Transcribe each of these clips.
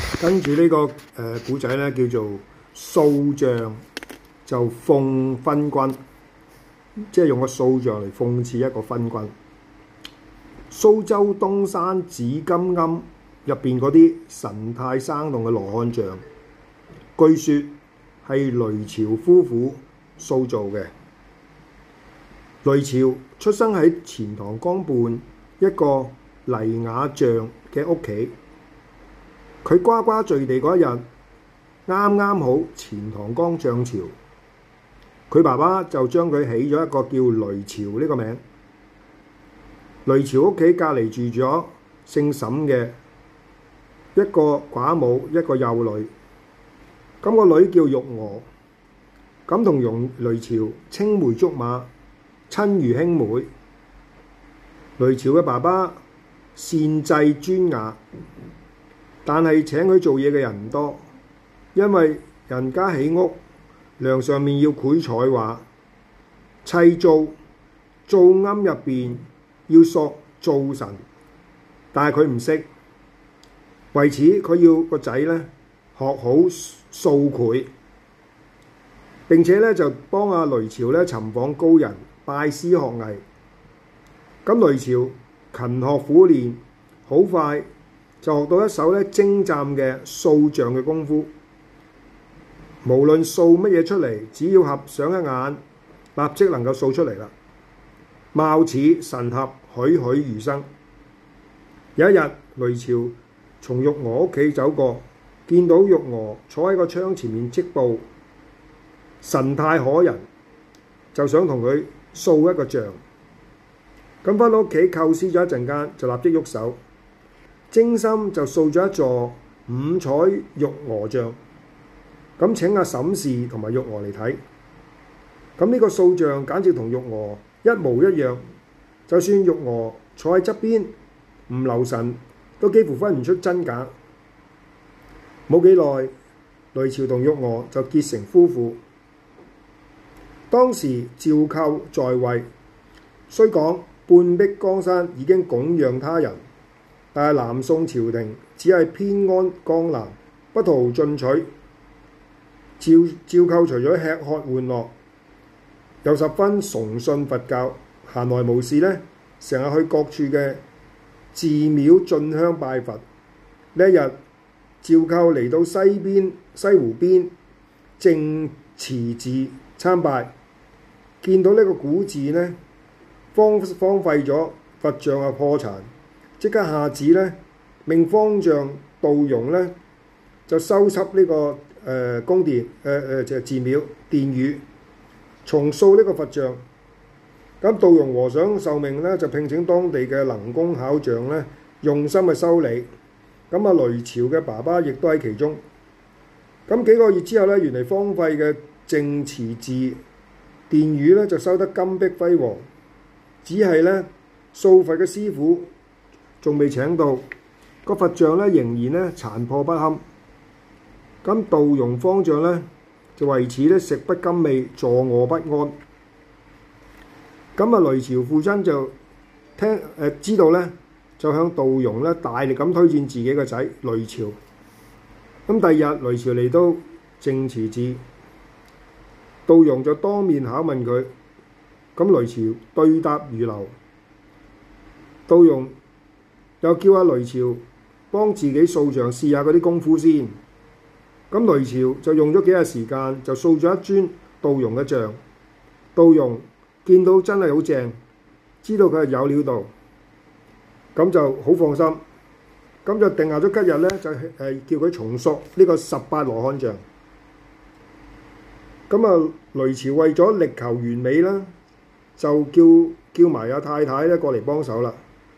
跟住呢個古仔咧叫做掃像就諷昏君，即係用個掃像嚟諷刺一個昏君。蘇州東山紫金庵入邊嗰啲神態生動嘅羅漢像，據說係雷朝夫婦塑造嘅。雷朝出生喺錢塘江畔一個黎雅像嘅屋企，佢呱呱墜地嗰一日，啱啱好錢塘江漲潮，佢爸爸就將佢起咗一個叫雷朝呢個名。雷朝屋企隔離住咗姓沈嘅一個寡母，一個幼女，咁個女叫玉娥，咁同雷朝青梅竹馬，親如兄妹。雷朝嘅爸爸善制專雅，但係請佢做嘢嘅人唔多，因為人家起屋梁上面要繪彩畫，砌灶庵入邊要塑灶神，但係佢唔識，為此佢要個仔咧學好掃繪，並且咧就幫阿雷朝咧尋訪高人，拜師學藝。咁雷朝勤學苦練，好快就學到一手咧精湛嘅掃像嘅功夫。無論掃乜嘢出嚟，只要合上一眼，立即能夠掃出嚟啦，貌似神合，栩栩如生。有一日，雷朝從玉娥屋企走過，見到玉娥坐喺個窗前面織布，神態可人，就想同佢掃一個像。咁返到屋企構思咗一陣間，就立即喐手，精心就掃咗一座五彩玉娥像。咁請阿沈氏同埋玉娥嚟睇，咁呢個掃像簡直同玉娥一模一樣，就算玉娥坐喺側邊唔留神，都幾乎分唔出真假。冇幾耐，雷朝同玉娥就結成夫婦。當時趙構在位，雖講半壁江山已經供養他人，但係南宋朝廷只係偏安江南，不圖進取。趙構除咗吃喝玩樂，又十分崇信佛教，閒來無事呢，成日去各處嘅寺廟進香拜佛。呢一日，趙構嚟到西湖邊淨慈寺參拜，見到呢個古寺呢荒廢咗，佛像啊破殘，即刻下旨呢，命方丈杜融呢就修葺呢個宮殿就係寺廟殿宇，重塑呢個佛像。咁杜融和尚受命咧，就聘請當地嘅能工巧匠咧，用心去修理。咁啊，雷朝嘅爸爸亦都喺其中。咁幾個月之後咧，原嚟荒廢嘅淨慈寺殿宇咧，就修得金碧輝煌。只係咧，掃佛嘅師傅仲未請到，個佛像咧仍然咧殘破不堪。咁杜融方丈咧就為此咧食不甘味，坐臥不安。咁啊，雷朝父親就知道咧，就向杜融咧大力咁推薦自己個仔雷朝。咁第二日，雷朝嚟到淨慈寺，杜融就當面考問佢。咁雷朝對答如流，杜融又叫阿雷朝幫自己掃像試下嗰啲功夫先。咁雷朝就用咗幾日時間，就掃咗一尊杜融嘅像。杜融見到真係好正，知道佢係有料到，咁就好放心，咁就定下咗吉日咧，就叫佢重塑呢個18羅漢像。咁啊，雷朝為咗力求完美啦，就叫埋阿太太咧過嚟幫手啦。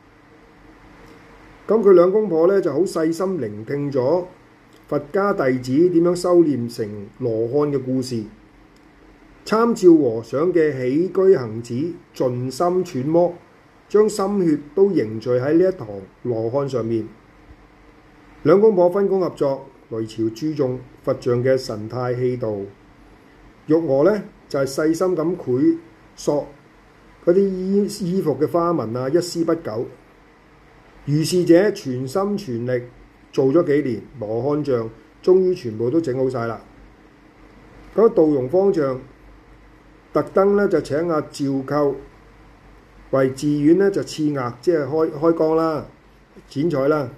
咁佢兩公婆咧就好細心聆聽咗佛家弟子點樣修煉成羅漢嘅故事，參照和尚嘅起居行止，盡心揣摩，將心血都凝聚喺呢一堂羅漢上面。兩公婆分工合作，雷朝注重佛像嘅神態氣度，玉娥呢就係細心咁繪塑嗰啲衣服嘅花紋啊，一絲不苟。如是者全心全力做咗幾年，羅漢像終於全部都整好晒啦。咁杜容方丈特登咧就請阿趙構為寺院咧就賜額，即係開光啦、剪彩啦。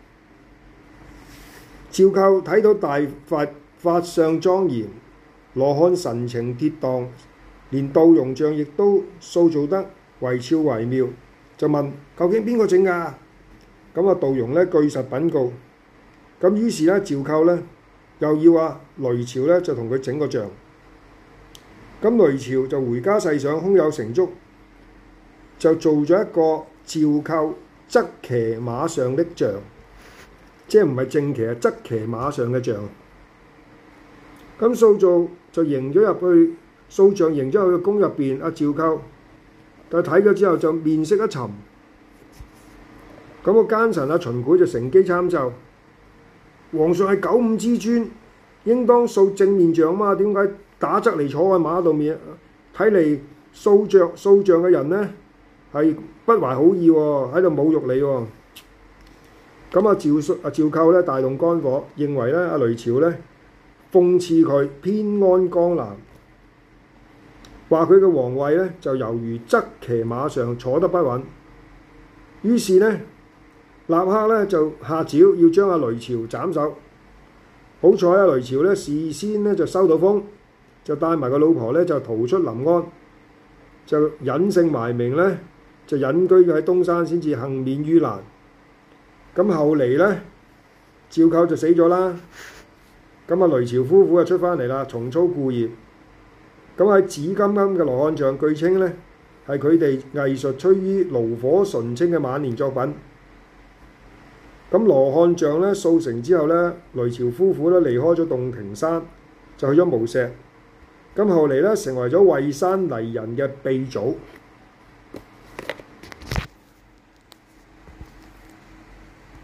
趙構睇到大佛法相莊嚴，羅漢神情跌宕，連杜容像亦都塑造得惟肖惟妙，就問究竟邊個整㗎？咁啊杜容咧據實稟告。咁於是咧趙構咧又要阿雷朝咧就同佢整個像。咁雷朝就回家細想，胸有成竹，就做咗一個趙構側騎馬上的像，即係唔係正騎，係側騎馬上嘅像。咁塑造就迎咗入去，塑像迎咗入去宮入邊。阿趙構但係睇咗之後就面色一沉。咁個奸臣阿秦檜就乘機參奏：皇上係九五之尊，應當塑正面像嘛？點解打側嚟坐喺馬度面？睇嚟塑像嘅人呢係不懷好意喎，喺度侮辱你喎。咁阿趙構咧大動肝火，認為咧阿雷朝咧諷刺佢偏安江南，話佢嘅皇位咧就猶如側騎馬上坐得不穩。於是咧立刻咧就下詔要將阿雷朝斬首。好彩阿雷朝咧事先咧就收到風，就帶埋個老婆咧就逃出臨安，就隱姓埋名咧就隱居喺東山，先至幸免於難。咁後嚟咧趙構就死咗啦。咁阿雷朝夫婦就出翻嚟啦，重操故業。咁喺紫金金嘅羅漢像，據稱咧係佢哋藝術趨於爐火純青嘅晚年作品。咁羅漢像咧塑成之後咧，雷朝夫婦咧離開咗洞庭山，就去咗無錫。咁後嚟咧成為咗惠山黎人嘅鼻祖。